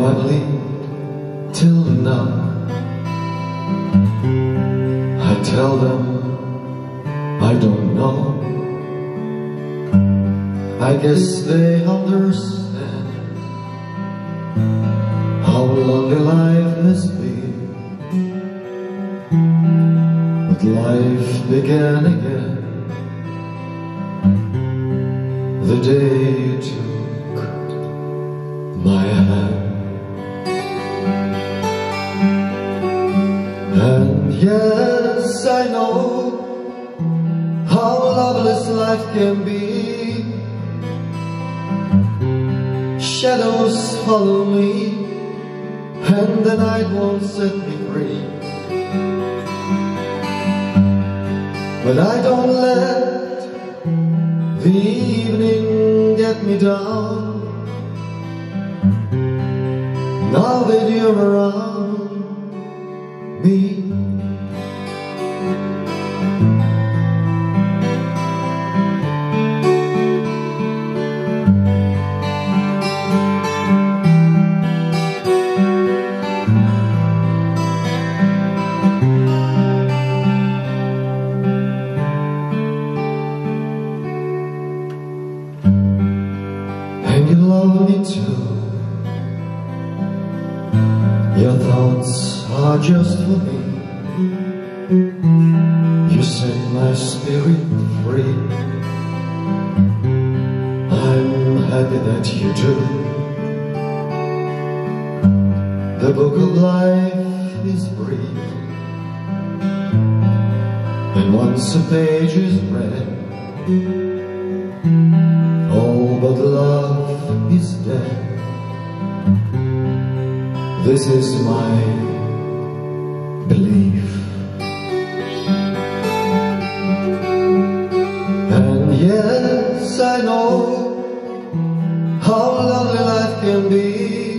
I've lived till now. I tell them I don't know. I guess they understand how long the life has been. But life began again the day you took my hand. And yes, I know how loveless life can be. Shadows follow me, and the night won't set me free. But I don't let the evening get me down. Now that you're around me, you love me too. Your thoughts are just for me. You set my spirit free. I'm happy that you do. The book of life is brief, and once a page is read, all but love is dead. This is my belief. And yes, I know how lovely life can be.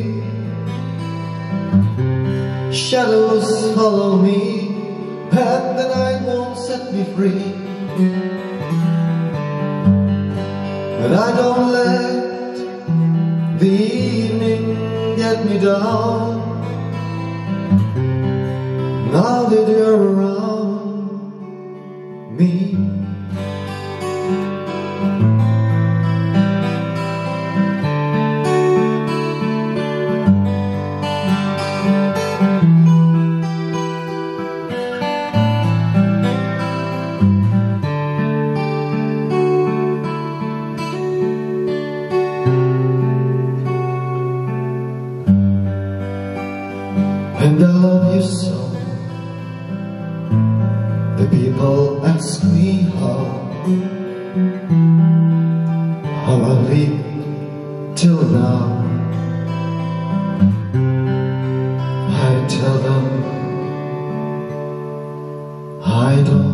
Shadows follow me, and the night won't set me free. But I don't let the evening get me down. Now that you're around me, and I love you so. The people ask me how I lived till now. I tell them I don't